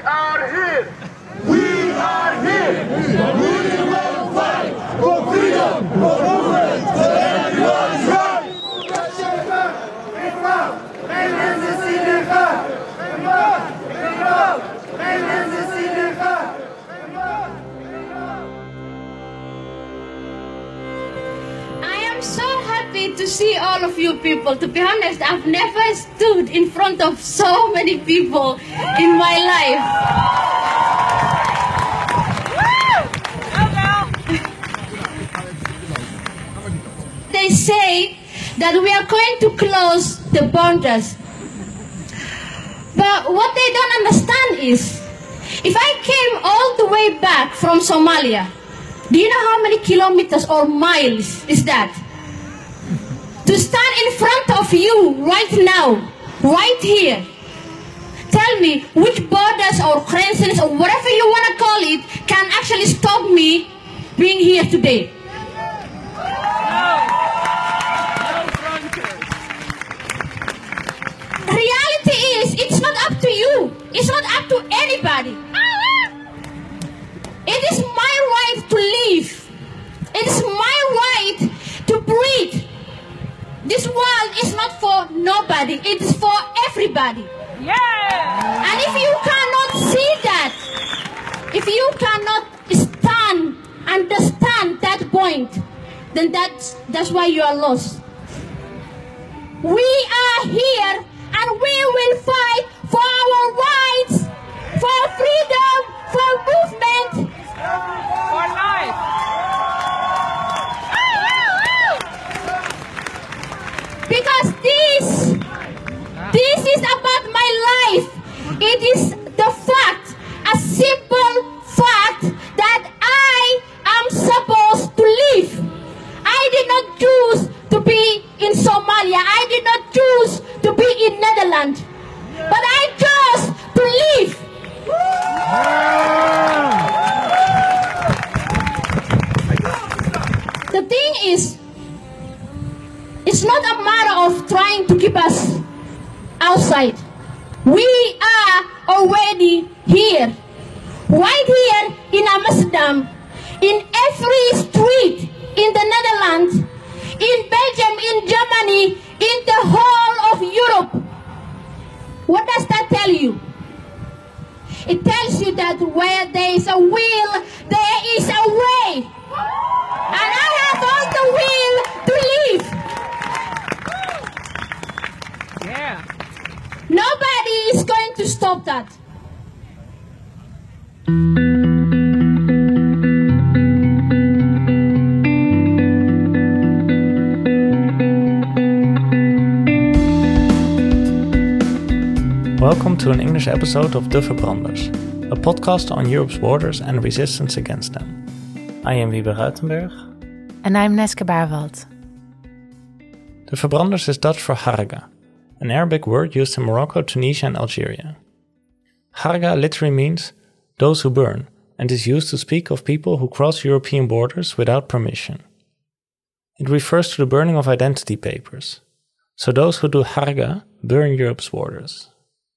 are here. We are here. We will fight for freedom, for movement, for everyone's right. So happy to see all of you people. To be honest, I've never stood in front of so many people in my life. They say that we are going to close the borders. But what they don't understand is, if I came all the way back from Somalia, do you know how many kilometers or miles is that? To stand in front of you right now, right here. Tell me which borders or craziness or whatever you want to call it can actually stop me being here today. The reality is, it's not up to you. It's not up to anybody. It is my right to live. It is my right to breathe. This world is not for nobody, it is for everybody. Yeah! And if you cannot see that, if you cannot understand that point, then that's why you are lost. We are here and we will fight for our rights, for freedom, for movement, for life. Because this is about my life. It is the fact, a simple fact that I am supposed to live. I did not choose to be in Somalia. I did not choose to be in Netherlands. But I chose to live. The thing is, it's not a matter of trying to keep us outside. We are already here. Right here in Amsterdam, in every street in the Netherlands, in Belgium, in Germany, in the whole of Europe. What does that tell you? It tells you that where there is a will, there is a way. And I have all the will to live. Yeah. Nobody is going to stop that. Welcome to an English episode of De Verbranders, a podcast on Europe's borders and resistance against them. I am Wiebe Ruitenberg. And I'm Neske Baarwald. De Verbranders is Dutch for Harga, an Arabic word used in Morocco, Tunisia and Algeria. Harga literally means those who burn, and is used to speak of people who cross European borders without permission. It refers to the burning of identity papers. So those who do Harga burn Europe's borders.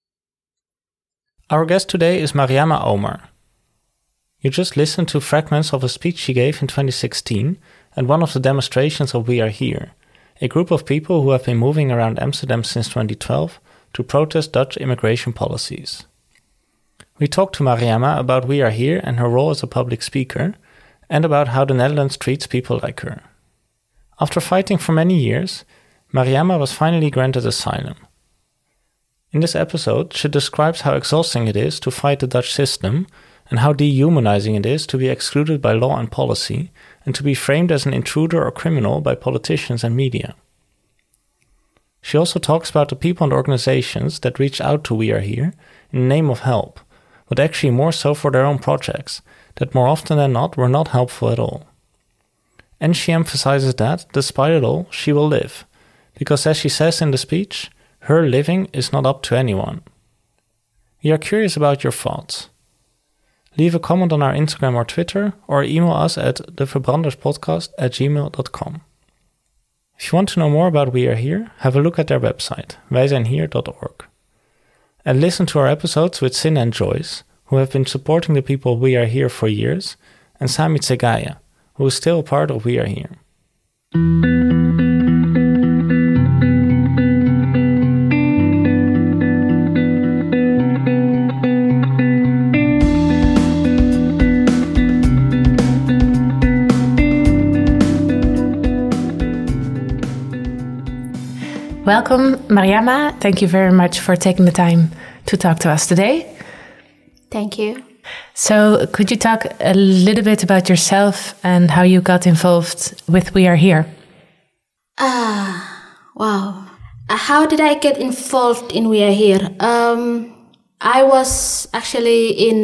Our guest today is Mariama Omar. You just listened to fragments of a speech she gave in 2016 at one of the demonstrations of We Are Here, a group of people who have been moving around Amsterdam since 2012 to protest Dutch immigration policies. We talked to Mariama about We Are Here and her role as a public speaker, and about how the Netherlands treats people like her. After fighting for many years, Mariama was finally granted asylum. In this episode, she describes how exhausting it is to fight the Dutch system and how dehumanizing it is to be excluded by law and policy and to be framed as an intruder or criminal by politicians and media. She also talks about the people and organizations that reach out to We Are Here in the name of help, but actually more so for their own projects that more often than not were not helpful at all. And she emphasizes that, despite it all, she will live, because as she says in the speech, her living is not up to anyone. We are curious about your thoughts. Leave a comment on our Instagram or Twitter, or email us at deverbranderspodcast@gmail.com. If you want to know more about We Are Here, have a look at their website, wijzijnhier.org. And listen to our episodes with Sin and Joyce, who have been supporting the people We Are Here for years, and Sami Tsegaya, who is still part of We Are Here. Welcome, Mariama. Thank you very much for taking the time to talk to us today. Thank you. So, could you talk a little bit about yourself and how you got involved with We Are Here? Wow. How did I get involved in We Are Here? I was actually in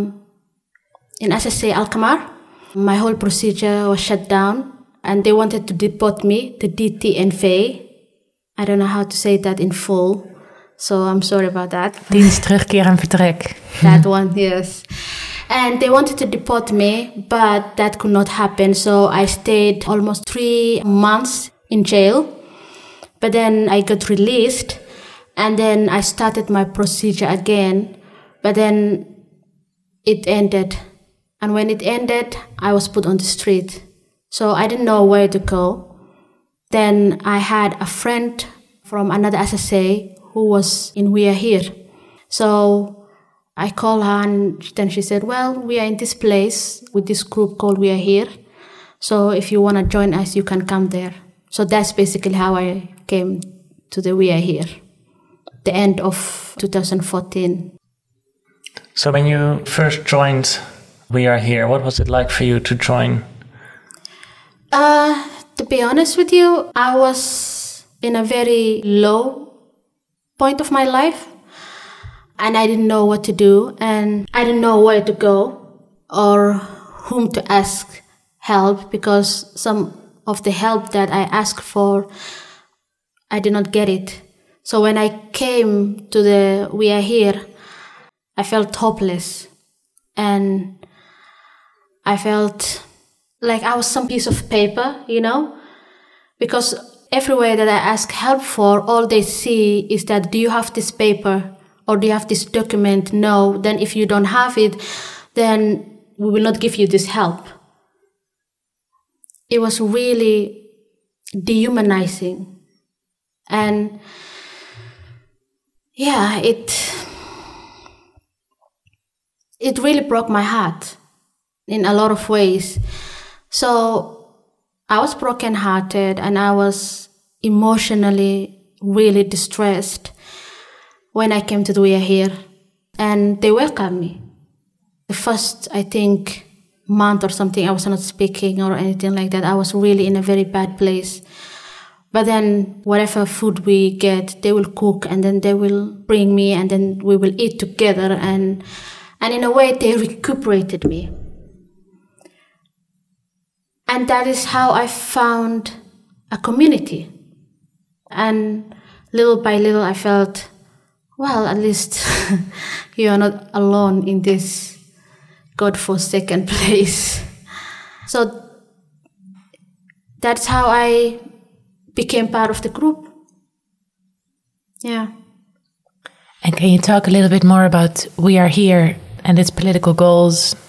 SSA Alkmaar. My whole procedure was shut down and they wanted to deport me to DTNV. I don't know how to say that in full, so I'm sorry about that. Dienst, terugkeer en vertrek. That one, yes. And they wanted to deport me, but that could not happen. So I stayed almost 3 months in jail. But then I got released, and then I started my procedure again. But then it ended. And when it ended, I was put on the street. So I didn't know where to go. Then I had a friend from another SSA who was in We Are Here. So I called her and then she said, well, we are in this place with this group called We Are Here. So if you want to join us, you can come there. So that's basically how I came to the We Are Here, the end of 2014. So when you first joined We Are Here, what was it like for you to join? To be honest with you, I was in a very low point of my life and I didn't know what to do and I didn't know where to go or whom to ask help because some of the help that I asked for, I did not get it. So when I came to the We Are Here, I felt hopeless and I felt like I was some piece of paper, you know, because everywhere that I ask help for, all they see is that, do you have this paper or do you have this document? No. Then if you don't have it, then we will not give you this help. It was really dehumanizing. And yeah, it really broke my heart in a lot of ways. So I was brokenhearted and I was emotionally really distressed when I came to the We Are Here. And they welcomed me. The first, I think, month or something, I was not speaking or anything like that. I was really in a very bad place. But then whatever food we get, they will cook and then they will bring me and then we will eat together. And in a way, they recuperated me. And that is how I found a community. And little by little, I felt, well, at least you are not alone in this God-forsaken place. So that's how I became part of the group. Yeah. And can you talk a little bit more about We Are Here and its political goals?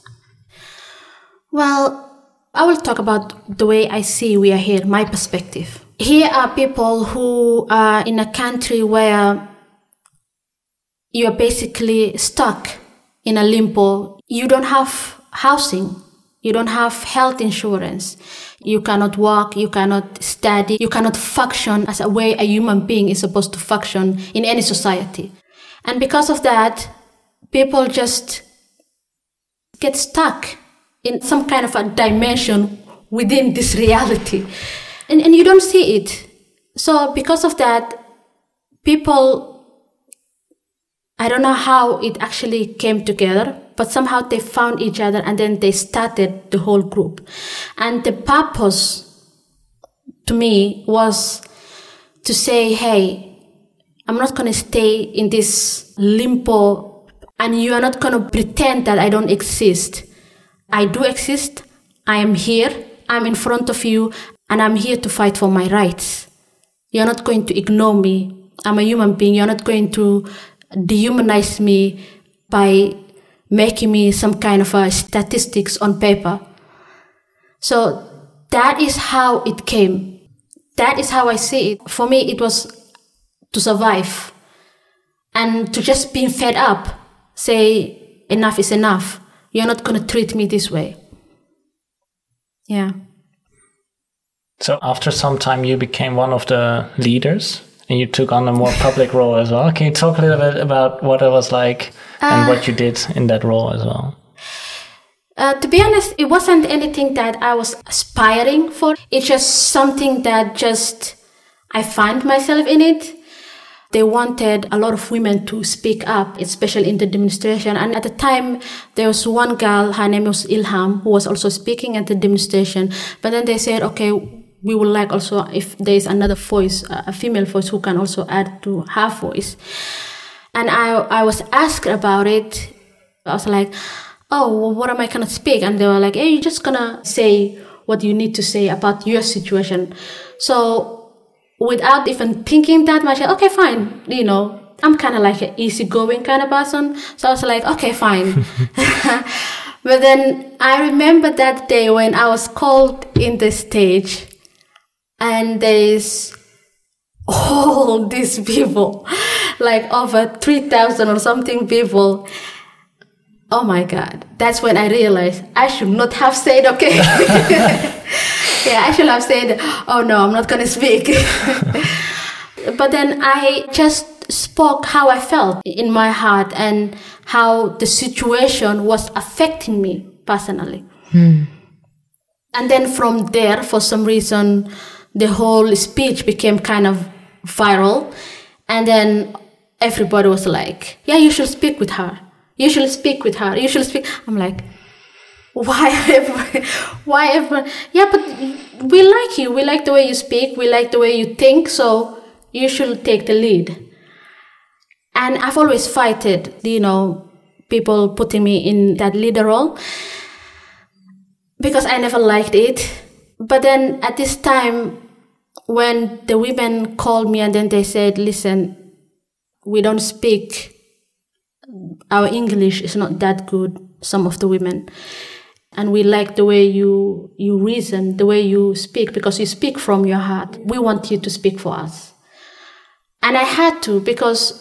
Well, I will talk about the way I see We Are Here, my perspective. Here are people who are in a country where you are basically stuck in a limbo. You don't have housing. You don't have health insurance. You cannot work. You cannot study. You cannot function as a way a human being is supposed to function in any society. And because of that, people just get stuck in some kind of a dimension within this reality. And you don't see it. So because of that, people, I don't know how it actually came together, but somehow they found each other and then they started the whole group. And the purpose to me was to say, hey, I'm not going to stay in this limbo and you are not going to pretend that I don't exist. I do exist. I am here. I'm in front of you and I'm here to fight for my rights. You're not going to ignore me. I'm a human being. You're not going to dehumanize me by making me some kind of statistics on paper. So that is how it came. That is how I see it. For me, it was to survive and to just being fed up, say, enough is enough. You're not going to treat me this way. Yeah. So after some time, you became one of the leaders and you took on a more public role as well. Can you talk a little bit about what it was like and what you did in that role as well? To be honest, it wasn't anything that I was aspiring for. It's just something that I find myself in it. They wanted a lot of women to speak up, especially in the demonstration. And at the time, there was one girl, her name was Ilham, who was also speaking at the demonstration. But then they said, okay, we would like also if there is another voice, a female voice who can also add to her voice. And I was asked about it. I was like, oh, well, what am I going to speak? And they were like, hey, you're just going to say what you need to say about your situation. So without even thinking that much, okay, fine. I'm kind of like an easygoing kind of person. So I was like, okay, fine. But then I remember that day when I was called in the stage and there's all these people, like over 3,000 or something people. Oh my God. That's when I realized I should not have said, okay. Yeah, I should have said, oh no, I'm not going to speak. But then I just spoke how I felt in my heart and how the situation was affecting me personally. And then from there, for some reason, the whole speech became kind of viral. And then everybody was like, yeah, you should speak with her. You should speak with her. You should speak. I'm like, why everyone? Yeah, but we like you. We like the way you speak. We like the way you think. So you should take the lead. And I've always fighted, people putting me in that leader role because I never liked it. But then at this time, when the women called me and then they said, listen, we don't speak. Our English is not that good, some of the women. And we like the way you reason, the way you speak, because you speak from your heart. We want you to speak for us. And I had to, because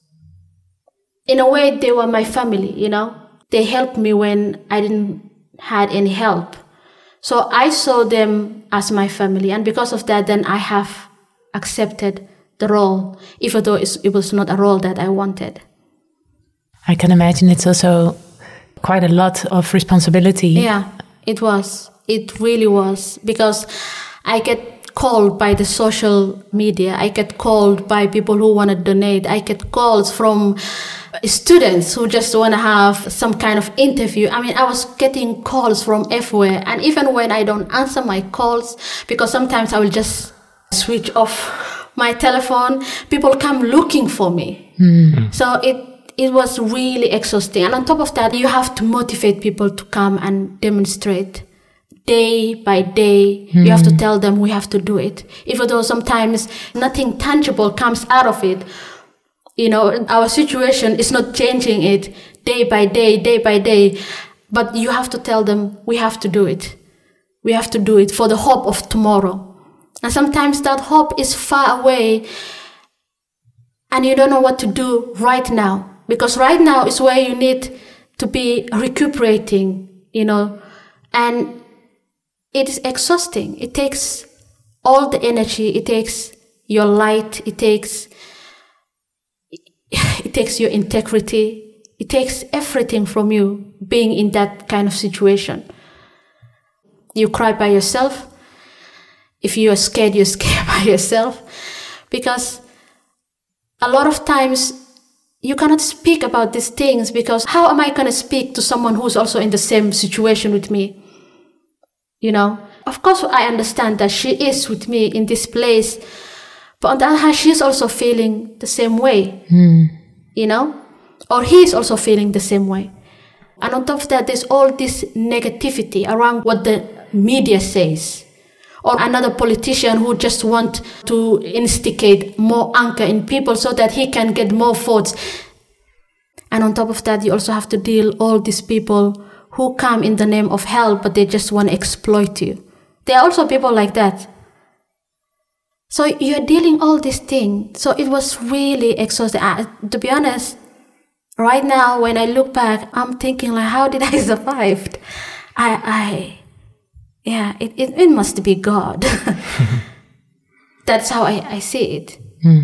in a way they were my family, They helped me when I didn't had any help. So I saw them as my family. And because of that, then I have accepted the role, even though it was not a role that I wanted. I can imagine it's also quite a lot of responsibility. Yeah, it was. It really was. Because I get called by the social media. I get called by people who want to donate. I get calls from students who just want to have some kind of interview. I mean, I was getting calls from everywhere. And even when I don't answer my calls, because sometimes I will just switch off my telephone, people come looking for me. So it was really exhausting. And on top of that, you have to motivate people to come and demonstrate day by day. You have to tell them we have to do it. Even though sometimes nothing tangible comes out of it. Our situation is not changing it day by day. But you have to tell them we have to do it. We have to do it for the hope of tomorrow. And sometimes that hope is far away and you don't know what to do right now. Because right now is where you need to be recuperating, and it is exhausting. It takes all the energy. It takes your light. It takes your integrity. It takes everything from you being in that kind of situation. You cry by yourself. If you are scared, you're scared by yourself. Because a lot of times, you cannot speak about these things because how am I going to speak to someone who's also in the same situation with me? Of course, I understand that she is with me in this place, but on the other hand, she's also feeling the same way, or he's also feeling the same way. And on top of that, there's all this negativity around what the media says. Or another politician who just wants to instigate more anger in people so that he can get more votes. And on top of that, you also have to deal all these people who come in the name of help, but they just want to exploit you. There are also people like that. So you're dealing all these things. So it was really exhausting. To be honest, right now, when I look back, I'm thinking like, how did I survive? It must be God. That's how I see it. Mm.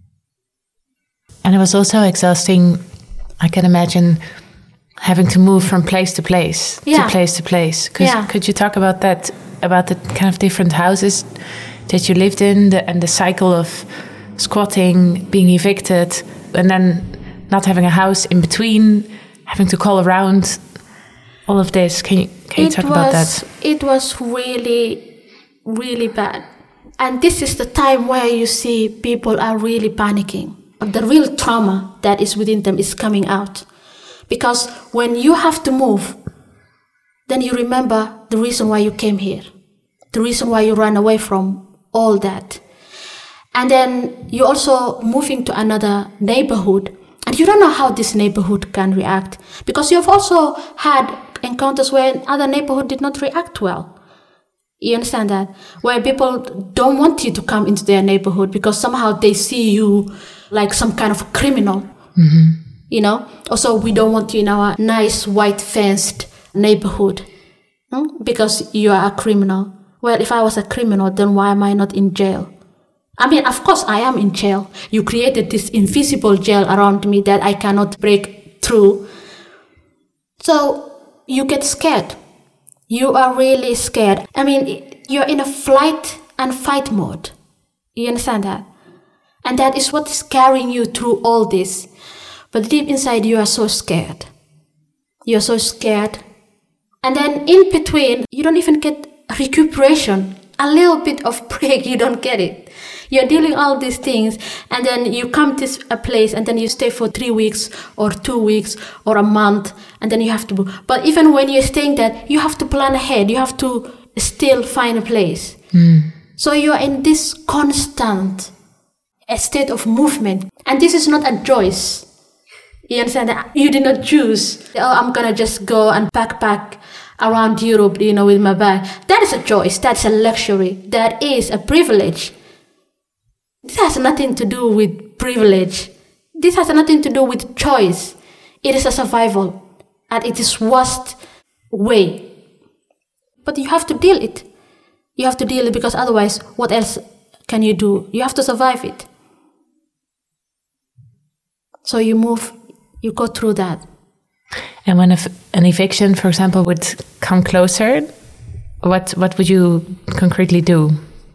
And it was also exhausting, I can imagine, having to move from place to place, to place to place. Could you talk about that, about the kind of different houses that you lived in, and the cycle of squatting, being evicted, and then not having a house in between, having to call around, all of this? Can you talk about that? It was really, really bad. And this is the time where you see people are really panicking. The real trauma that is within them is coming out. Because when you have to move, then you remember the reason why you came here, the reason why you ran away from all that. And then you're also moving to another neighborhood, and you don't know how this neighborhood can react, because you've also had encounters where other neighborhood did not react well. You understand that? Where people don't want you to come into their neighborhood because somehow they see you like some kind of criminal. Mm-hmm. You know? Also, we don't want you in our nice white fenced neighborhood because you are a criminal. Well, if I was a criminal, then why am I not in jail? I mean, of course I am in jail. You created this invisible jail around me that I cannot break through. So you get scared. You are really scared. I mean, you're in a flight and fight mode. You understand that? And that is what is carrying you through all this. But deep inside, you are so scared. You're so scared. And then in between, you don't even get recuperation. A little bit of break, you don't get it. You're dealing all these things, and then you come to a place, and then you stay for 3 weeks or 2 weeks or a month, and then you have to. But even when you're staying there, you have to plan ahead. You have to still find a place. Mm. So you're in this constant state of movement, and this is not a choice. You understand that? You did not choose, I'm gonna just go and backpack around Europe, with my bag. That is a choice. That's a luxury. That is a privilege. This has nothing to do with privilege. This has nothing to do with choice. It is a survival, and it is worst way. But you have to deal it. You have to deal it, because otherwise, what else can you do? You have to survive it. So you move, you go through that. And when an eviction, for example, would come closer, what would you concretely do?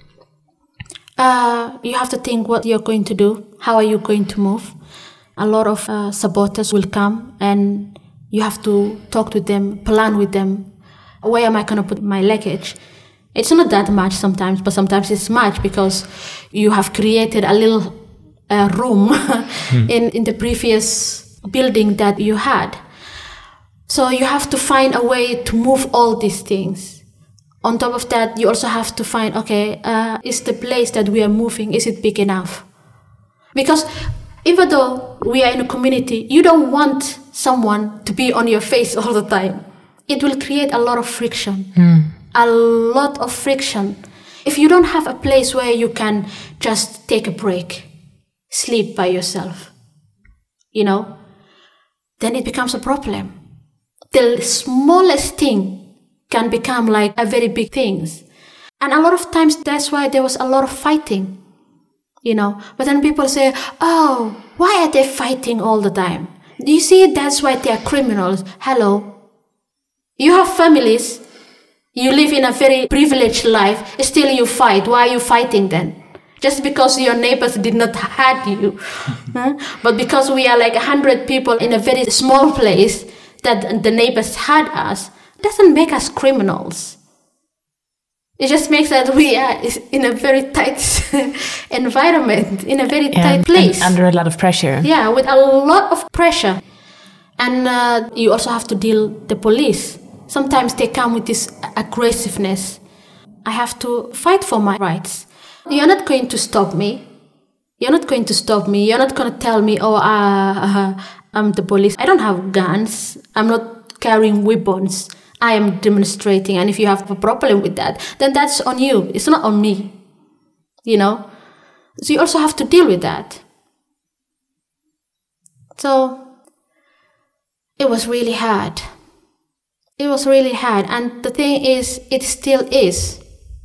You have to think what you're going to do. How are you going to move? A lot of saboteurs will come, and you have to talk to them, plan with them. Where am I going to put my luggage? It's not that much sometimes, but sometimes it's much, because you have created a little room in the previous building that you had. So you have to find a way to move all these things. On top of that, you also have to find, is the place that we are moving, is it big enough? Because even though we are in a community, you don't want someone to be on your face all the time. It will create a lot of friction. A lot of friction. If you don't have a place where you can just take a break, sleep by yourself, then it becomes a problem. The smallest thing can become like a very big thing. And a lot of times that's why there was a lot of fighting, But then people say, oh, why are they fighting all the time? Do you see, that's why they are criminals. Hello. You have families. You live in a very privileged life. Still you fight. Why are you fighting then? Just because your neighbors did not had you. But because we are like 100 people in a very small place that the neighbors had us, doesn't make us criminals. It just makes that we are in a very tight environment, in a very tight place. And under a lot of pressure. Yeah, with a lot of pressure. And you also have to deal with the police. Sometimes they come with this aggressiveness. I have to fight for my rights. You're not going to stop me. You're not going to stop me. You're not going to tell me, I'm the police. I don't have guns. I'm not carrying weapons. I am demonstrating. And if you have a problem with that, then that's on you. It's not on me. So you also have to deal with that. So it was really hard. It was really hard. And the thing is, it still is.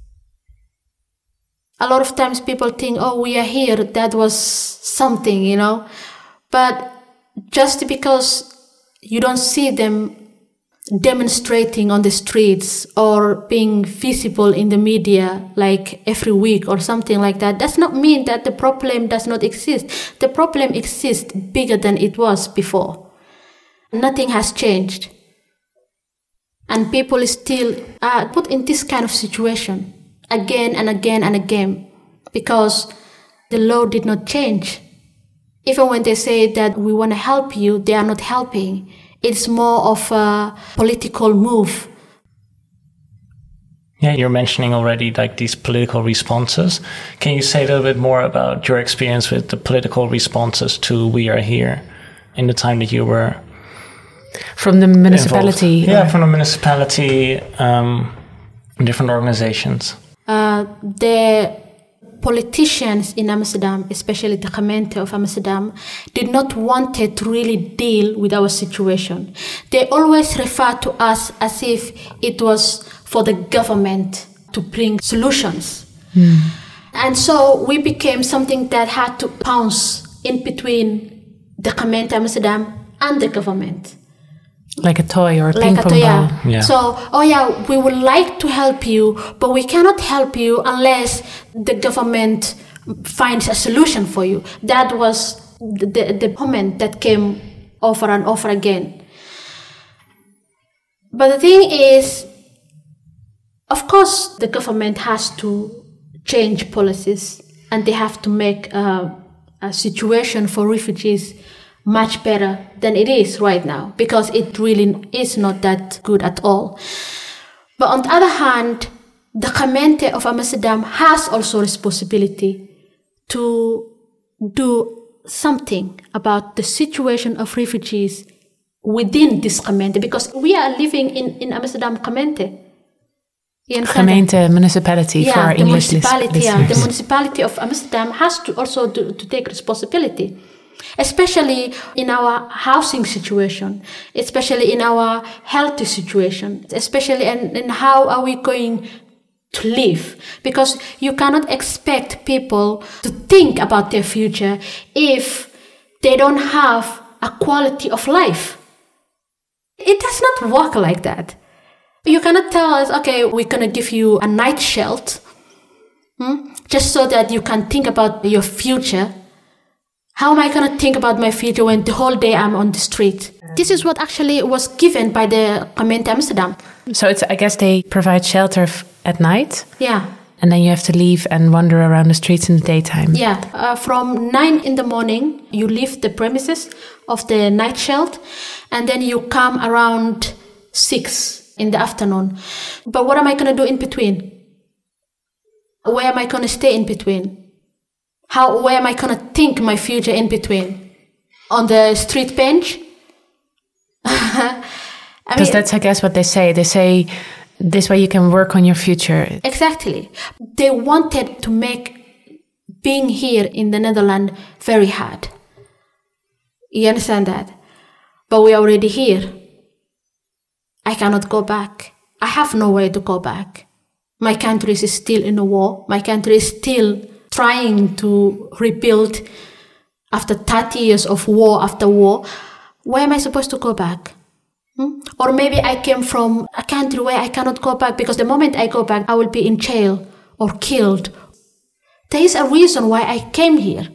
A lot of times people think, oh, we are here, that was something, But just because you don't see them demonstrating on the streets or being visible in the media like every week or something like that, does not mean that the problem does not exist. The problem exists bigger than it was before. Nothing has changed. And people still are put in this kind of situation again and again and again because the law did not change. Even when they say that we want to help you, they are not helping. It's more of a political move. Yeah, you're mentioning already like these political responses. Can you say a little bit more about your experience with the political responses to We Are Here in the time that you were from the municipality? Involved? Yeah, from the municipality, different organizations. The politicians in Amsterdam, especially the gemeente of Amsterdam, did not want to really deal with our situation. They always refer to us as if it was for the government to bring solutions. And so we became something that had to bounce in between the gemeente Amsterdam and the government. Like a toy or a ping pong ball. Yeah. So, we would like to help you, but we cannot help you unless the government finds a solution for you. That was the comment that came over and over again. But the thing is, of course, the government has to change policies and they have to make a situation for refugees much better than it is right now, because it really is not that good at all. But on the other hand, the gemeente of Amsterdam has also responsibility to do something about the situation of refugees within this gemeente, because we are living in Amsterdam gemeente. Gemeente, municipality for our English listeners. The municipality of Amsterdam has to also to take responsibility. Especially in our housing situation, especially in our health situation, especially in how are we going to live. Because you cannot expect people to think about their future if they don't have a quality of life. It does not work like that. You cannot tell us, okay, we're going to give you a night shelter, just so that you can think about your future. How am I going to think about my future when the whole day I'm on the street? This is what actually was given by the gemeente Amsterdam. So I guess they provide shelter at night? Yeah. And then you have to leave and wander around the streets in the daytime? Yeah. From 9 in the morning, you leave the premises of the night shelter, and then you come around 6 in the afternoon. But what am I going to do in between? Where am I going to stay in between? Where am I going to think my future in between? On the street bench? Because that's, I guess, what they say. They say, this way you can work on your future. Exactly. They wanted to make being here in the Netherlands very hard. You understand that? But we are already here. I cannot go back. I have nowhere to go back. My country is still in a war. My country is still trying to rebuild after 30 years of war after war. Where am I supposed to go back? Or maybe I came from a country where I cannot go back because the moment I go back, I will be in jail or killed. There is a reason why I came here.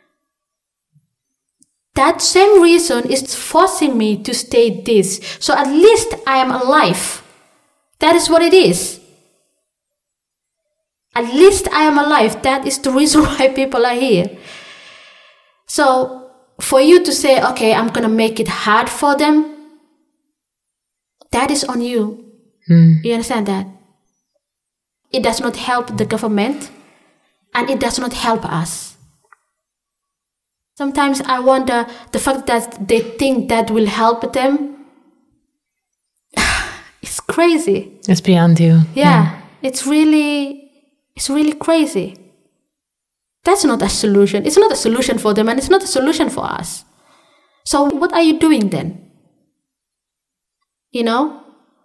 That same reason is forcing me to stay this. So at least I am alive. That is what it is. At least I am alive. That is the reason why people are here. So for you to say, okay, I'm going to make it hard for them, that is on you. You understand that? It does not help the government and it does not help us. Sometimes I wonder the fact that they think that will help them. It's crazy. It's beyond you. Yeah. It's really crazy. That's not a solution. It's not a solution for them, and it's not a solution for us. So what are you doing then? You know?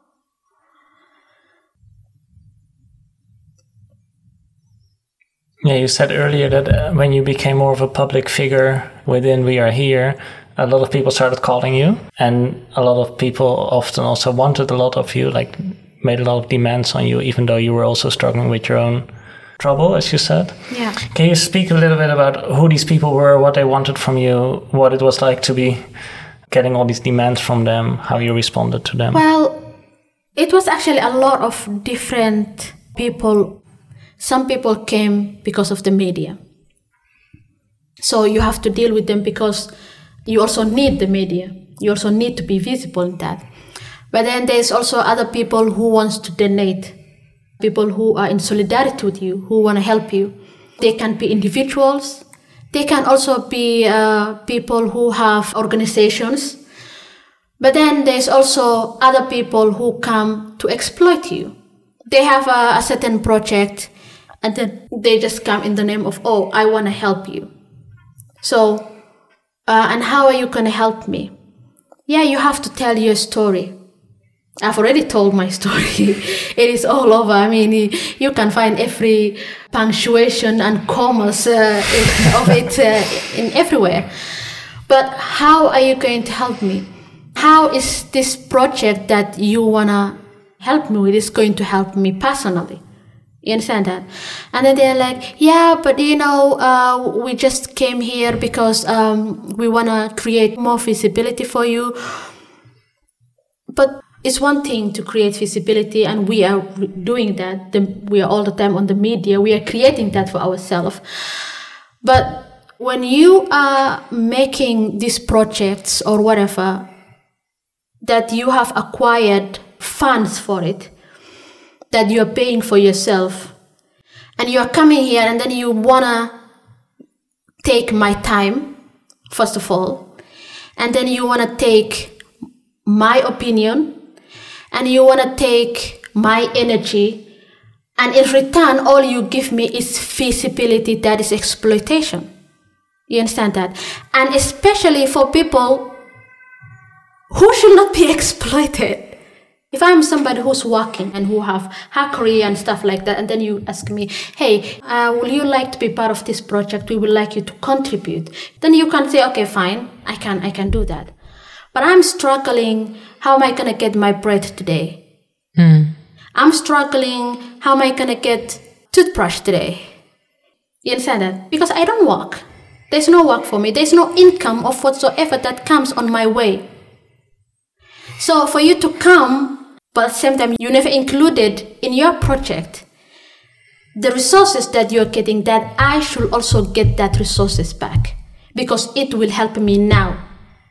Yeah, you said earlier that when you became more of a public figure within We Are Here, a lot of people started calling you, and a lot of people often also wanted a lot of you, like made a lot of demands on you, even though you were also struggling with your own trouble, as you said. Yeah. Can you speak a little bit about who these people were, what they wanted from you, what it was like to be getting all these demands from them, how you responded to them? Well, it was actually a lot of different people. Some people came because of the media. So you have to deal with them because you also need the media. You also need to be visible in that. But then there's also other people who wants to donate, people who are in solidarity with you, who want to help you. They can be individuals. They can also be people who have organizations. But then there's also other people who come to exploit you. They have a certain project, and then they just come in the name of, oh, I want to help you. So, and how are you going to help me? Yeah, you have to tell your story. I've already told my story. It is all over. I mean, you can find every punctuation and commas of it in everywhere. But how are you going to help me? How is this project that you want to help me with is going to help me personally? You understand that? And then they're like, yeah, but we just came here because we want to create more visibility for you. But it's one thing to create visibility, and we are doing that. We are all the time on the media. We are creating that for ourselves. But when you are making these projects or whatever, that you have acquired funds for it, that you are paying for yourself, and you are coming here and then you want to take my time, first of all, and then you want to take my opinion, and you want to take my energy, and in return, all you give me is visibility. That is exploitation. You understand that? And especially for people who should not be exploited. If I'm somebody who's working and who have her career and stuff like that, and then you ask me, hey, will you like to be part of this project? We would like you to contribute. Then you can say, okay, fine, I can do that. But I'm struggling. How am I going to get my bread today? I'm struggling. How am I going to get toothbrush today? You understand that? Because I don't work. There's no work for me. There's no income of whatsoever that comes on my way. So for you to come, but at the same time, you never included in your project the resources that you're getting, that I should also get that resources back because it will help me now.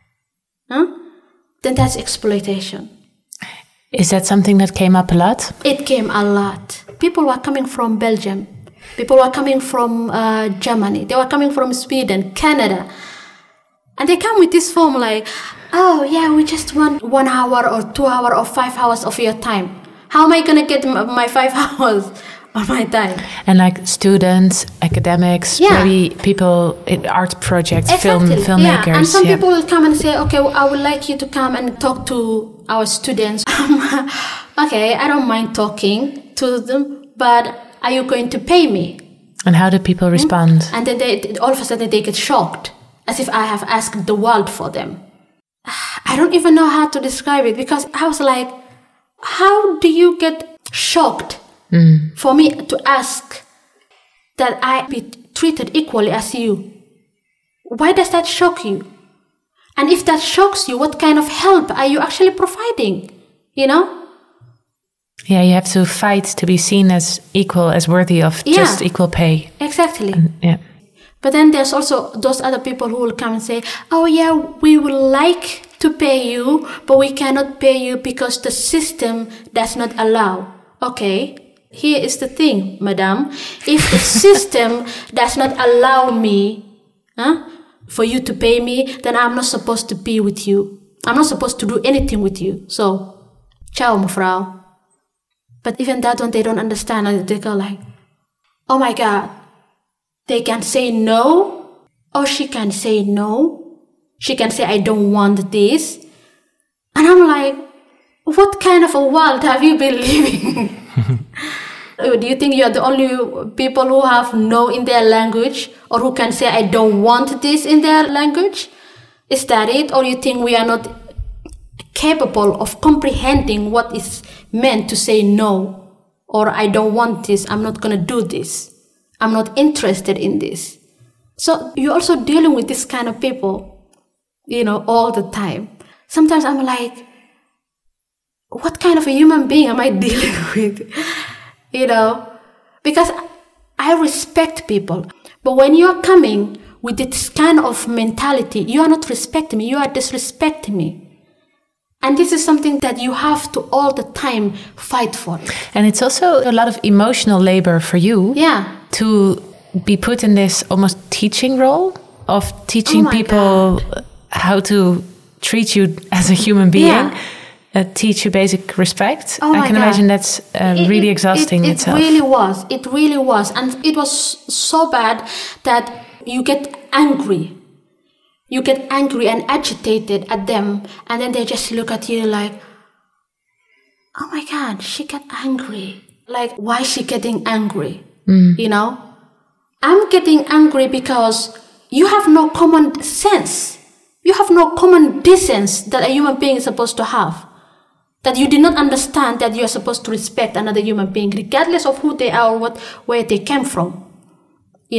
Then that's exploitation. Is that something that came up a lot? It came a lot. People were coming from Belgium. People were coming from Germany. They were coming from Sweden, Canada. And they come with this form like, oh, yeah, we just want 1 hour or 2 hours or 5 hours of your time. How am I going to get my 5 hours of my time? And like students, academics, maybe people in art projects, filmmakers. Yeah. And some people will come and say, okay, I would like you to come and talk to our students. Okay, I don't mind talking to them, but are you going to pay me? And how do people respond? And then all of a sudden they get shocked, as if I have asked the world for them. I don't even know how to describe it, because I was like, how do you get shocked for me to ask that I be treated equally as you? Why does that shock you? And if that shocks you, what kind of help are you actually providing? You know? Yeah, you have to fight to be seen as equal, as worthy of just equal pay. Exactly. Yeah. But then there's also those other people who will come and say, oh yeah, we would like to pay you, but we cannot pay you because the system does not allow. Okay, here is the thing, madam. If the system does not allow me for you to pay me, then I'm not supposed to be with you. I'm not supposed to do anything with you. So, ciao, mevrouw. But even that one, they don't understand. And they go like, oh my God, they can say no, or she can say no. She can say, I don't want this. And I'm like, what kind of a world have you been living? Do you think you're the only people who have no in their language, or who can say, I don't want this in their language? Is that it? Or you think we are not capable of comprehending what is meant to say no, or I don't want this, I'm not going to do this, I'm not interested in this? So you're also dealing with this kind of people, all the time. Sometimes I'm like, what kind of a human being am I dealing with? Because I respect people. But when you're coming with this kind of mentality, you are not respecting me, you are disrespecting me. And this is something that you have to all the time fight for. And it's also a lot of emotional labor for you. Yeah. To be put in this almost teaching role of teaching people how to treat you as a human being. Yeah. Teach you basic respect. I can imagine that's really exhausting itself. It really was. And it was so bad that you get angry. You get angry and agitated at them. And then they just look at you like, oh my God, she got angry. Like, why is she getting angry? I'm getting angry because you have no common sense. You have no common decency that a human being is supposed to have. That you did not understand that you are supposed to respect another human being, regardless of who they are or where they came from. You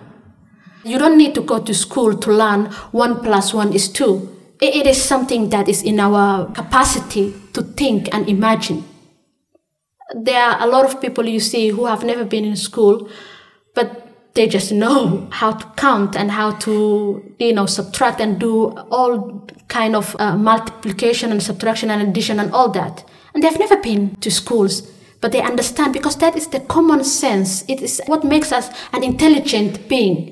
don't need to go to school to learn 1 + 1 is 2. It is something that is in our capacity to think and imagine. There are a lot of people you see who have never been in school, but they just know how to count and how to, subtract and do all kind of multiplication and subtraction and addition and all that. And they've never been to schools, but they understand because that is the common sense. It is what makes us an intelligent being,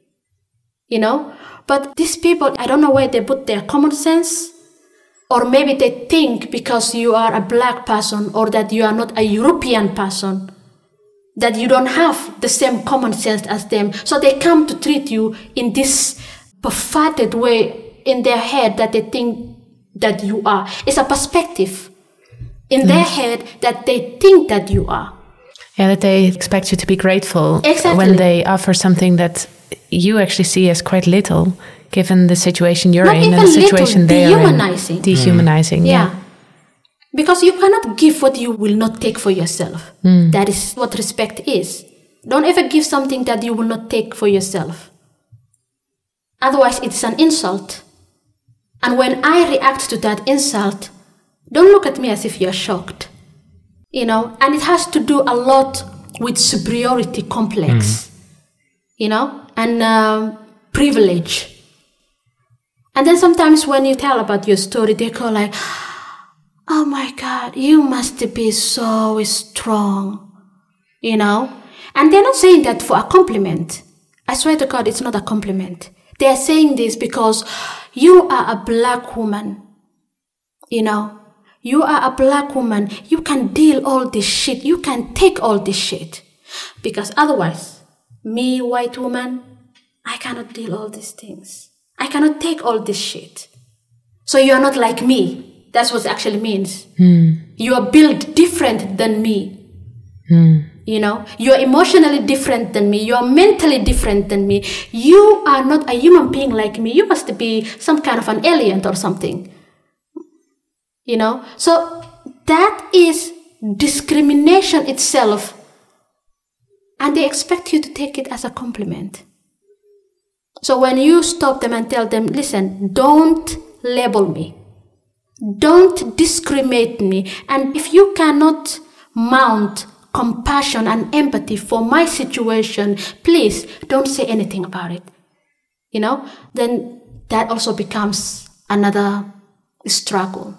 But these people, I don't know where they put their common sense, or maybe they think because you are a black person or that you are not a European person, that you don't have the same common sense as them. So they come to treat you in this perverted way in their head that they think that you are. It's a perspective in their head that they think that you are. Yeah, that they expect you to be grateful Exactly. when they offer something that you actually see as quite little, given the situation you're in and the situation they are in. Dehumanizing. Yeah. Because you cannot give what you will not take for yourself. That is what respect is. Don't ever give something that you will not take for yourself. Otherwise, it's an insult. And when I react to that insult, don't look at me as if you're shocked. And it has to do a lot with superiority complex, and privilege. And then sometimes when you tell about your story, they go like, oh my God, you must be so strong, And they're not saying that for a compliment. I swear to God, it's not a compliment. They are saying this because you are a black woman, You are a black woman. You can deal all this shit. You can take all this shit. Because otherwise, me, white woman, I cannot deal all these things. I cannot take all this shit. So you are not like me. That's what it actually means. You are built different than me. You are emotionally different than me. You are mentally different than me. You are not a human being like me. You must be some kind of an alien or something. So that is discrimination itself. And they expect you to take it as a compliment. So when you stop them and tell them, listen, don't label me. Don't discriminate me. And if you cannot mount compassion and empathy for my situation, please don't say anything about it. Then that also becomes another struggle.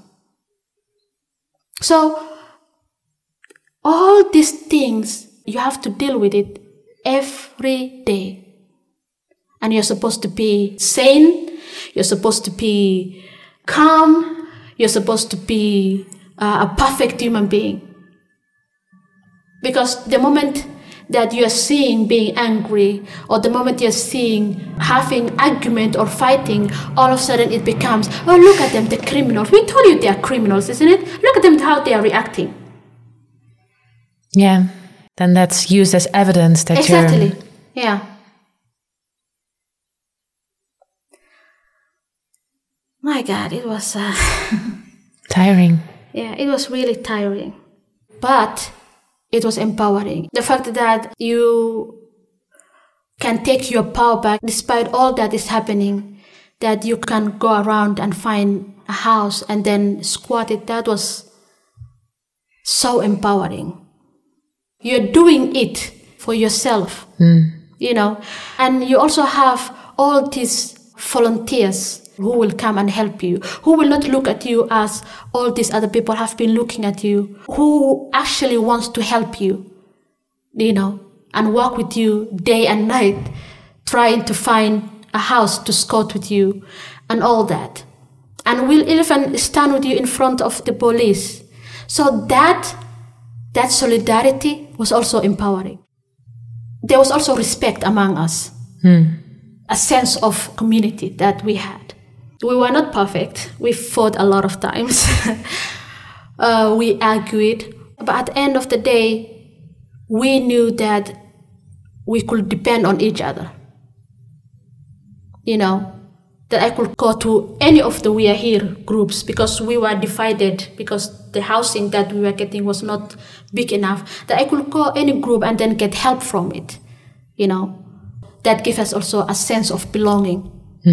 So all these things, you have to deal with it every day. And you're supposed to be sane. You're supposed to be calm. You're supposed to be a perfect human being. Because the moment that you're seeing being angry, or the moment you're seeing having argument or fighting, all of a sudden it becomes, oh, look at them, the criminals. We told you they are criminals, isn't it? Look at them, how they are reacting. Yeah, then that's used as evidence that exactly. Yeah. My God, it was tiring. Yeah, it was really tiring. But it was empowering. The fact that you can take your power back despite all that is happening, that you can go around and find a house and then squat it, that was so empowering. You're doing it for yourself, you know, and you also have all these volunteers who will come and help you, who will not look at you as all these other people have been looking at you, who actually wants to help you, you know, and work with you day and night, trying to find a house to squat with you and all that. And will even stand with you in front of the police. So that solidarity was also empowering. There was also respect among us, a sense of community that we had. We were not perfect. We fought a lot of times. We argued. But at the end of the day, we knew that we could depend on each other. You know, that I could go to any of the We Are Here groups because we were divided, because the housing that we were getting was not big enough, that I could go any group and then get help from it. You know, that gave us also a sense of belonging.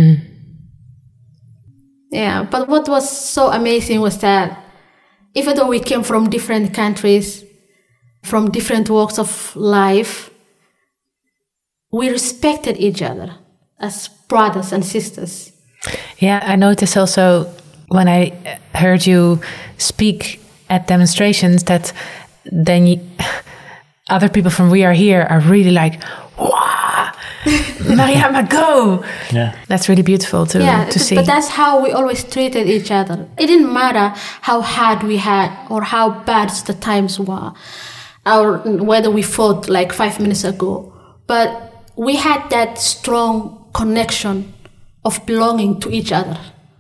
Yeah, but what was so amazing was that even though we came from different countries, from different walks of life, we respected each other as brothers and sisters. Yeah, I noticed also when I heard you speak at demonstrations that then other people from We Are Here are really like, wow, Mariama, go! Yeah, that's really beautiful to see. But that's how we always treated each other. It didn't matter how hard we had or how bad the times were, or whether we fought like 5 minutes ago. But we had that strong connection of belonging to each other.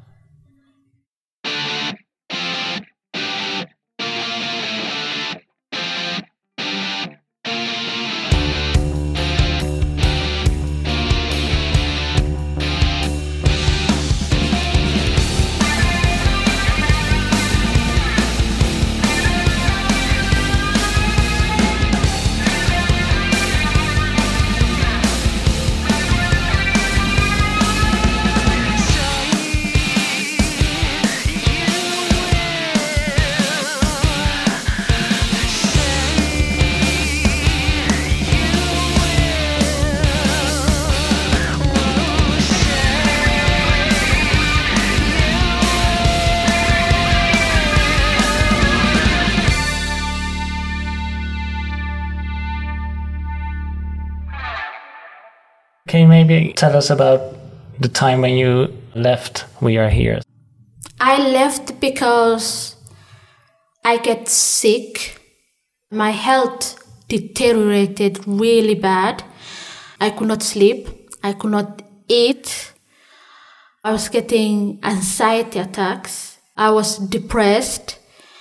Can you maybe tell us about the time when you left We Are Here? I left because I get sick. My health deteriorated really bad. I could not sleep. I could not eat. I was getting anxiety attacks. I was depressed.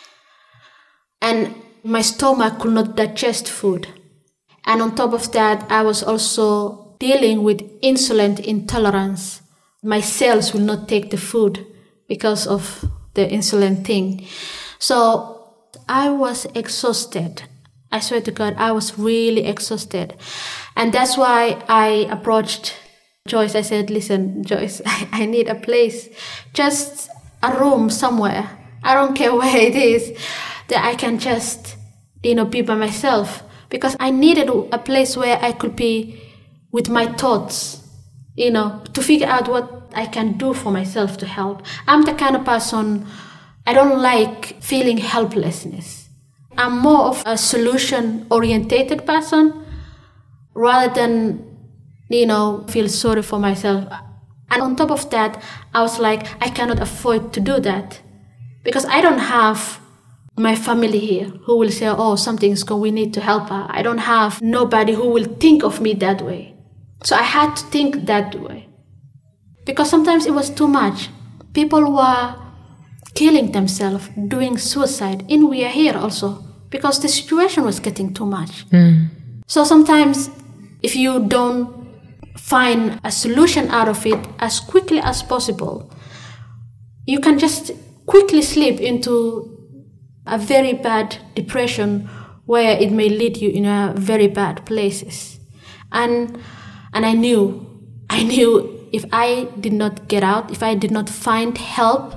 And my stomach could not digest food. And on top of that, I was also dealing with insulin intolerance. My cells will not take the food because of the insulin thing. So I was exhausted. I swear to God, I was really exhausted. And that's why I approached Joyce. I said, listen, Joyce, I need a place, just a room somewhere. I don't care where it is, that I can just, be by myself. Because I needed a place where I could be with my thoughts, to figure out what I can do for myself to help. I'm the kind of person, I don't like feeling helplessness. I'm more of a solution-orientated person rather than, feel sorry for myself. And on top of that, I was like, I cannot afford to do that. Because I don't have my family here who will say, oh, something's going, we need to help her. I don't have nobody who will think of me that way. So I had to think that way. Because sometimes it was too much. People were killing themselves, doing suicide. And we are here also. Because the situation was getting too much. So sometimes if you don't find a solution out of it as quickly as possible, you can just quickly slip into a very bad depression where it may lead you in a very bad places. And I knew if I did not get out, if I did not find help,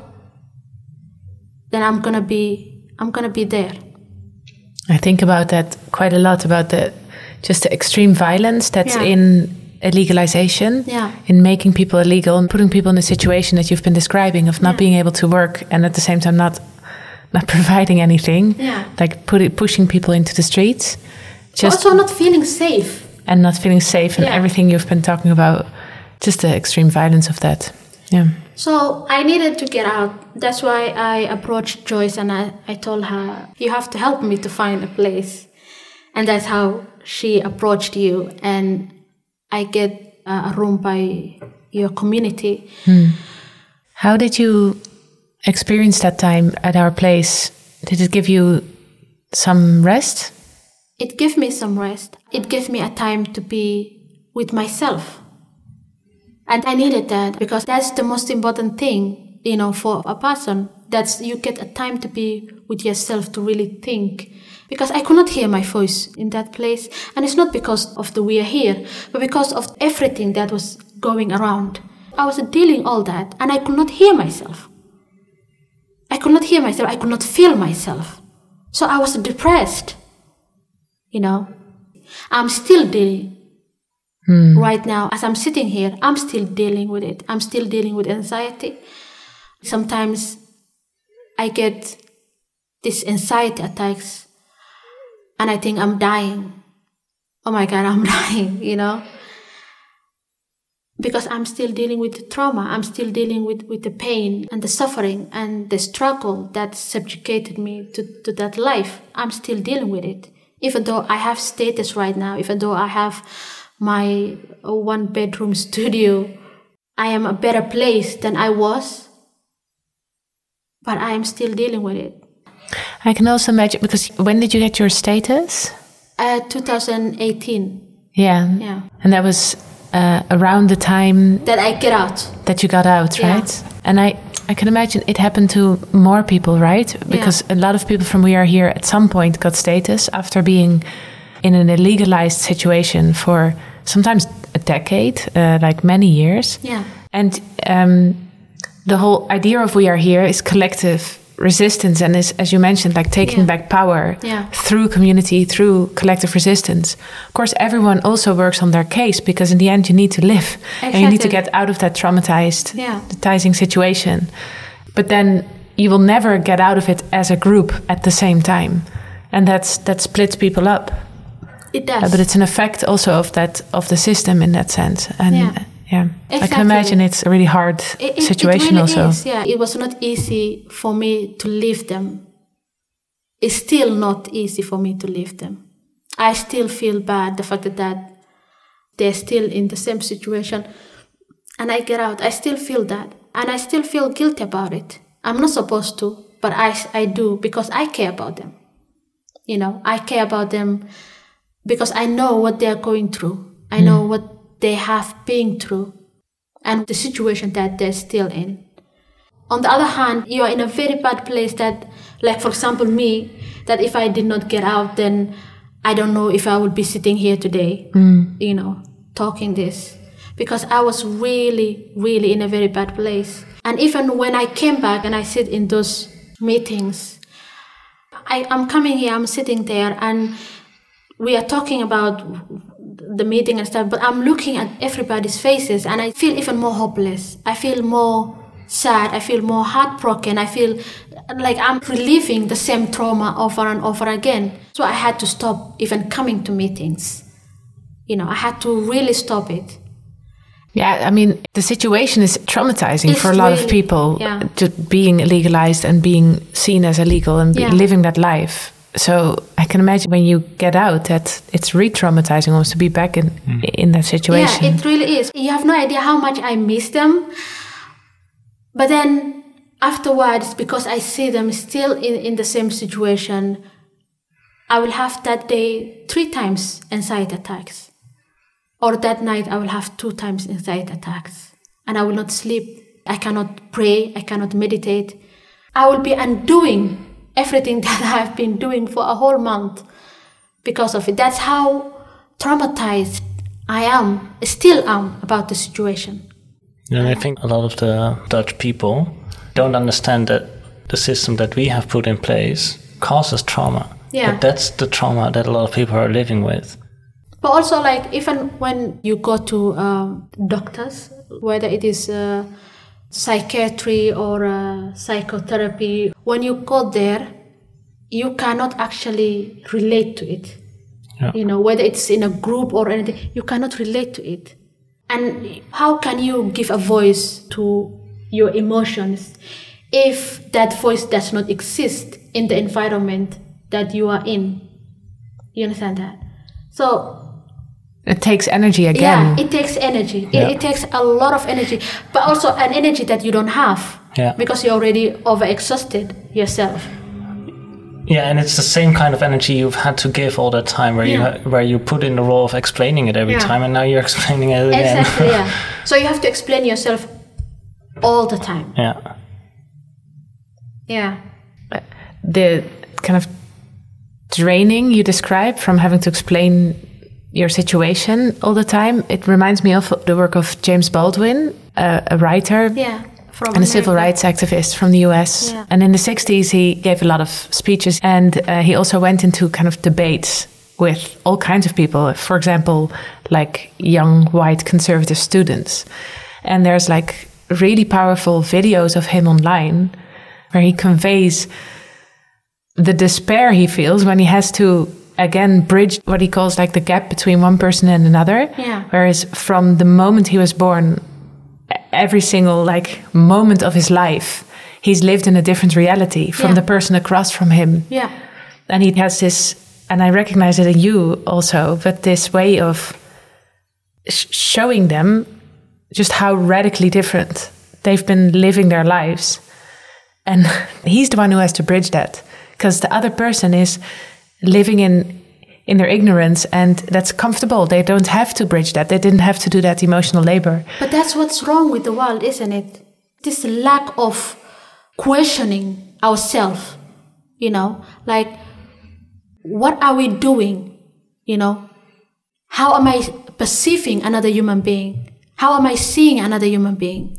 then I'm gonna be there. I think about that quite a lot, about the extreme violence that's in illegalization, in making people illegal and putting people in the situation that you've been describing of not being able to work and at the same time not providing anything, like pushing people into the streets. Also not feeling safe. And not feeling safe and everything you've been talking about, just the extreme violence of that. Yeah. So I needed to get out. That's why I approached Joyce and I told her, you have to help me to find a place. And that's how she approached you. And I get a room by your community. How did you experience that time at our place? Did it give you some rest? It gave me some rest. It gave me a time to be with myself. And I needed that because that's the most important thing, for a person. That's you get a time to be with yourself to really think. Because I could not hear my voice in that place. And it's not because of the we are here, but because of everything that was going around. I was dealing all that and I could not hear myself. I could not hear myself. I could not feel myself. So I was depressed. I'm still dealing. Right now, as I'm sitting here, I'm still dealing with it. I'm still dealing with anxiety. Sometimes I get these anxiety attacks and I think I'm dying. Oh my God, I'm dying, Because I'm still dealing with the trauma. I'm still dealing with the pain and the suffering and the struggle that subjugated me to that life. I'm still dealing with it. Even though I have status right now, even though I have my 1-bedroom studio, I am a better place than I was, but I am still dealing with it. I can also imagine, because when did you get your status? 2018. Yeah. And that was around the time that I get out. That you got out, right? And I can imagine it happened to more people, right? Because a lot of people from We Are Here at some point got status after being in an illegalized situation for sometimes a decade, like many years. Yeah. And the whole idea of We Are Here is collective resistance and is, as you mentioned, like taking back power through community, through collective resistance. Of course, everyone also works on their case because in the end you need to live and you need to get out of that traumatizing situation. But then you will never get out of it as a group at the same time. And that splits people up. It does. But it's an effect also of the system in that sense. And exactly. I can imagine it's a really hard situation it really also. Is, it was not easy for me to leave them. It's still not easy for me to leave them. I still feel bad, the fact that they're still in the same situation. And I get out, I still feel that. And I still feel guilty about it. I'm not supposed to, but I do because I care about them. I care about them because I know what they're going through. I know what they have been through and the situation that they're still in. On the other hand, you are in a very bad place that, like for example me, that if I did not get out, then I don't know if I would be sitting here today, talking this. Because I was really, really in a very bad place. And even when I came back and I sit in those meetings, I'm coming here, I'm sitting there and we are talking about the meeting and stuff, but I'm looking at everybody's faces and I feel even more hopeless. I feel more sad. I feel more heartbroken. I feel like I'm reliving the same trauma over and over again. So I had to stop even coming to meetings. I had to really stop it Yeah, I mean, the situation is traumatizing for a lot of people, just being legalized and being seen as illegal and living that life. So I can imagine when you get out that it's re-traumatizing almost to be back in that situation. Yeah, it really is. You have no idea how much I miss them. But then afterwards, because I see them still in the same situation, I will have that day 3 times anxiety attacks. Or that night I will have 2 times anxiety attacks. And I will not sleep. I cannot pray. I cannot meditate. I will be undoing everything that I've been doing for a whole month because of it. That's how traumatized I still am about the situation. And I think a lot of the Dutch people don't understand that the system that we have put in place causes trauma. Yeah. But that's the trauma that a lot of people are living with. But also, like, even when you go to doctors, whether it is psychiatry or psychotherapy, when you go there, you cannot actually relate to it. Yeah. You know, whether it's in a group or anything, you cannot relate to it. And how can you give a voice to your emotions if that voice does not exist in the environment that you are in? You understand that? So it takes energy again. Yeah, it takes energy. Yeah. It takes a lot of energy, but also an energy that you don't have because you're already overexhausted yourself. Yeah, and it's the same kind of energy you've had to give all that time, where you put in the role of explaining it every time, and now you're explaining it again. Exactly, yeah. So you have to explain yourself all the time. Yeah. Yeah. The kind of draining you describe from having to explain your situation all the time, it reminds me of the work of James Baldwin, a writer. Yeah. And a civil rights activist from the US. Yeah. And in the 60s, he gave a lot of speeches. And he also went into kind of debates with all kinds of people. For example, like young white conservative students. And there's like really powerful videos of him online where he conveys the despair he feels when he has to, again, bridge what he calls like the gap between one person and another. Yeah. Whereas from the moment he was born, every single like moment of his life, he's lived in a different reality from the person across from him. Yeah. And he has this, and I recognize it in you also, but this way of showing them just how radically different they've been living their lives. And he's the one who has to bridge that, because the other person is living in their ignorance, and that's comfortable. They don't have to bridge that. They didn't have to do that emotional labor. But that's what's wrong with the world, isn't it? This lack of questioning ourselves, you know, like, what are we doing? You know, how am I perceiving another human being? How am I seeing another human being?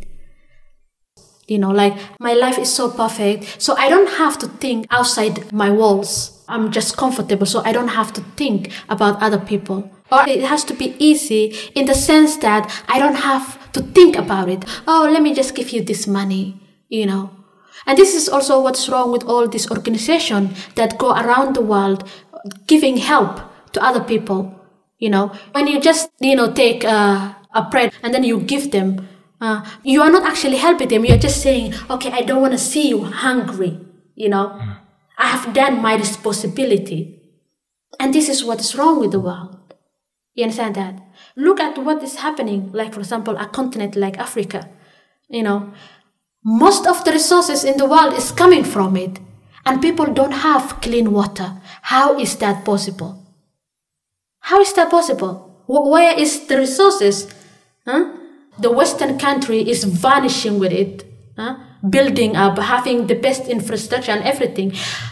You know, like, my life is so perfect, so I don't have to think outside my walls. I'm just comfortable, so I don't have to think about other people. Or it has to be easy in the sense that I don't have to think about it. Oh, let me just give you this money, you know. And this is also what's wrong with all these organizations that go around the world giving help to other people, you know. When you just, you know, take a bread and then you give them, you are not actually helping them. You're just saying, okay, I don't want to see you hungry, you know. I have done my responsibility. And this is what is wrong with the world. You understand that? Look at what is happening, like, for example, a continent like Africa. You know, most of the resources in the world is coming from it. And people don't have clean water. How is that possible? How is that possible? Where is the resources? The Western country is vanishing with it. Building up, having the best infrastructure and everything.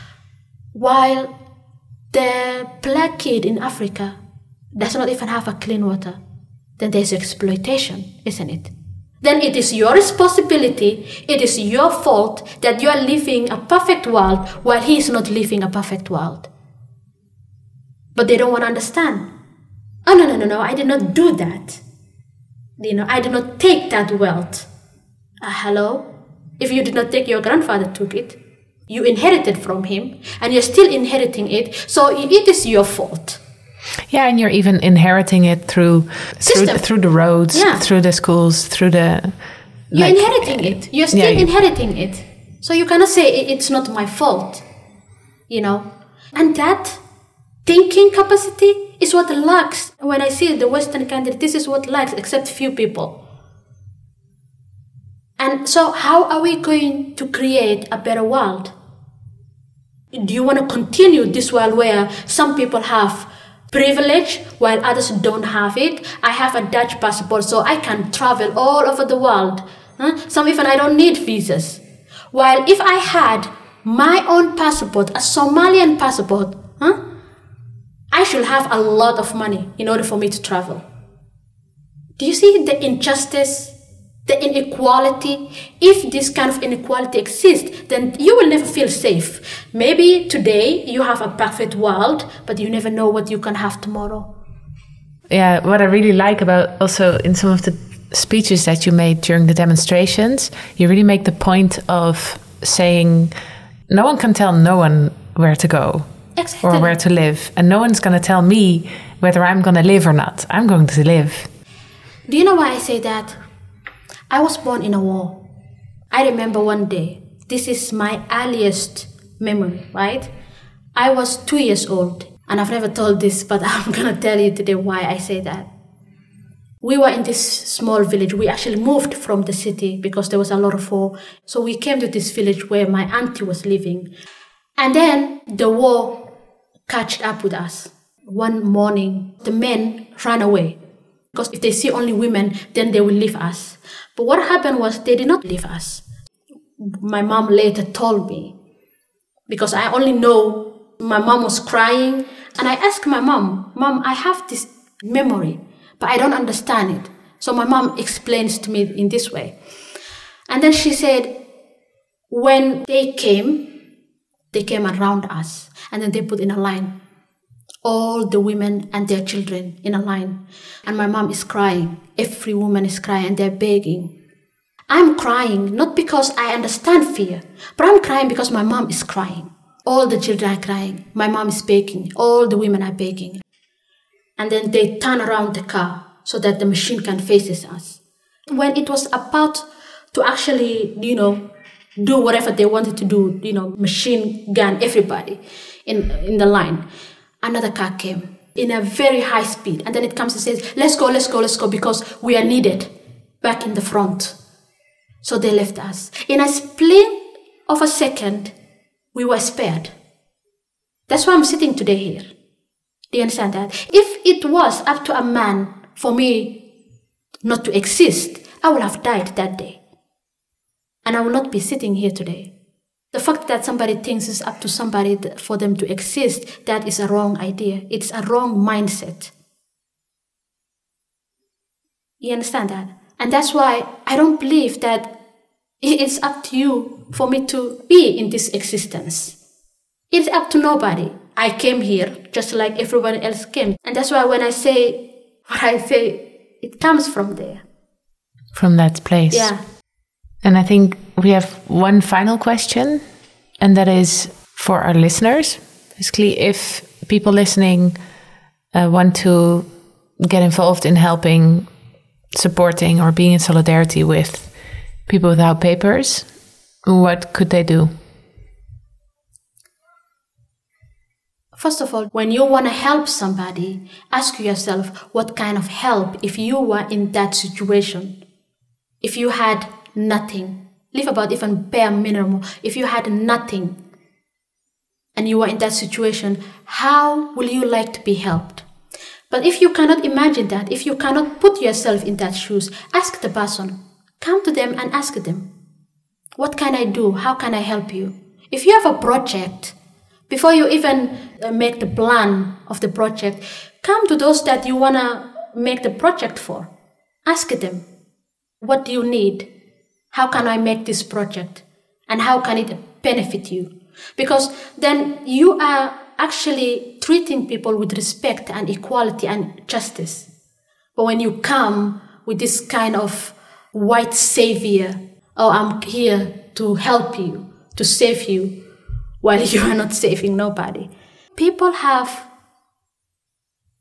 While the black kid in Africa does not even have a clean water. Then there's exploitation, isn't it? Then it is your responsibility, it is your fault that you are living a perfect world while he is not living a perfect world. But they don't want to understand. Oh, no, I did not do that. You know, I did not take that wealth. Hello? If you did not take, your grandfather took it. You inherited from him, and you're still inheriting it, so it is your fault. Yeah, and you're even inheriting it through the roads, through the schools, through the... You're inheriting it. You're still inheriting it. So you cannot say it's not my fault, And that thinking capacity is what lacks. When I see the Western country, this is what lacks, except few people. And so how are we going to create a better world? Do you want to continue this world where some people have privilege while others don't have it? I have a Dutch passport, so I can travel all over the world. Some even I don't need visas. While if I had my own passport, a Somalian passport, I should have a lot of money in order for me to travel. Do you see the injustice, the inequality? If this kind of inequality exists, then you will never feel safe. Maybe today you have a perfect world, but you never know what you can have tomorrow. Yeah, what I really like about also in some of the speeches that you made during the demonstrations, you really make the point of saying no one can tell no one where to go. Exactly. Or where to live. And no one's going to tell me whether I'm going to live or not. I'm going to live. Do you know why I say that? I was born in a war. I remember one day, this is my earliest memory, right? I was 2 years old. And I've never told this, but I'm going to tell you today why I say that. We were in this small village. We actually moved from the city because there was a lot of war. So we came to this village where my auntie was living. And then the war catched up with us. One morning, the men ran away. Because if they see only women, then they will leave us. But what happened was they did not leave us. My mom later told me. Because I only know my mom was crying. And I asked my mom, I have this memory, but I don't understand it. So my mom explains to me in this way. And then she said, when they came around us, and then they put in a line, all the women and their children in a line. And my mom is crying. Every woman is crying, and they're begging. I'm crying, not because I understand fear, but I'm crying because my mom is crying. All the children are crying. My mom is begging. All the women are begging. And then they turn around the car so that the machine gun faces us. When it was about to actually, do whatever they wanted to do, machine gun everybody in the line, another car came in a very high speed. And then it comes and says, let's go, because we are needed back in the front. So they left us. In a split of a second, we were spared. That's why I'm sitting today here. Do you understand that? If it was up to a man for me not to exist, I would have died that day. And I will not be sitting here today. The fact that somebody thinks it's up to somebody for them to exist, that is a wrong idea. It's a wrong mindset. You understand that? And that's why I don't believe that it's up to you for me to be in this existence. It's up to nobody. I came here just like everyone else came. And that's why when I say what I say, it comes from there. From that place. Yeah. And I think we have one final question, and that is for our listeners. Basically, if people listening want to get involved in helping, supporting, or being in solidarity with people without papers, what could they do? First of all, when you want to help somebody, ask yourself what kind of help if you were in that situation. If you had nothing, live about even bare minimum. If you had nothing and you were in that situation, how will you like to be helped? But if you cannot imagine that, if you cannot put yourself in that shoes, ask the person. Come to them and ask them, what can I do? How can I help you? If you have a project, before you even make the plan of the project, come to those that you want to make the project for. Ask them, what do you need? How can I make this project? And how can it benefit you? Because then you are actually treating people with respect and equality and justice. But when you come with this kind of white savior, oh, I'm here to help you, to save you, while you are not saving nobody. People have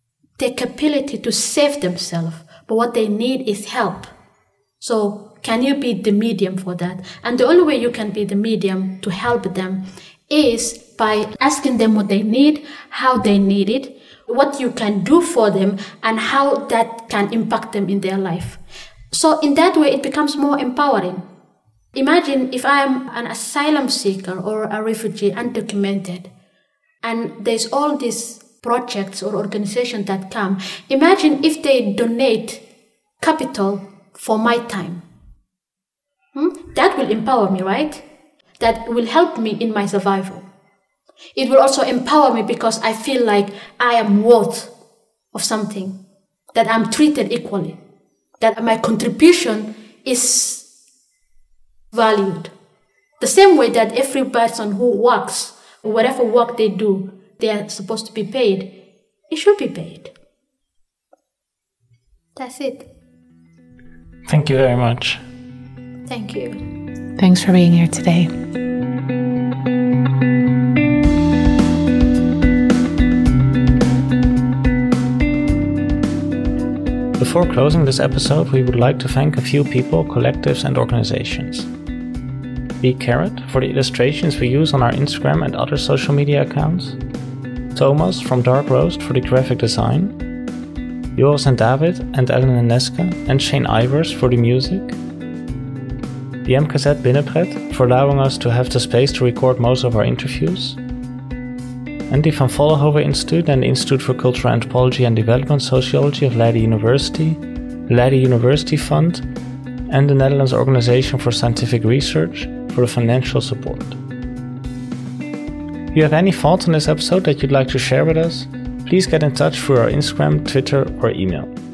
their capability to save themselves, but what they need is help. So can you be the medium for that? And the only way you can be the medium to help them is by asking them what they need, how they need it, what you can do for them, and how that can impact them in their life. So in that way, it becomes more empowering. Imagine if I'm an asylum seeker or a refugee, undocumented, and there's all these projects or organizations that come. Imagine if they donate capital for my time. That will empower me, right? That will help me in my survival. It will also empower me because I feel like I am worth of something, that I'm treated equally, that my contribution is valued. The same way that every person who works, whatever work they do, they are supposed to be paid. It should be paid. That's it. Thank you very much. Thank you. Thanks for being here today. Before closing this episode, we would like to thank a few people, collectives and organizations. Be Carrot for the illustrations we use on our Instagram and other social media accounts. Thomas from Dark Roast for the graphic design. Joris and David and Ellen Neske and Shane Ivers for the music. The MKZ Binnenpret for allowing us to have the space to record most of our interviews. And the Van Vollenhoven Institute and the Institute for Cultural Anthropology and Development Sociology of Leiden University, the Leiden University Fund, and the Netherlands Organization for Scientific Research for the financial support. If you have any thoughts on this episode that you'd like to share with us, please get in touch through our Instagram, Twitter, or email.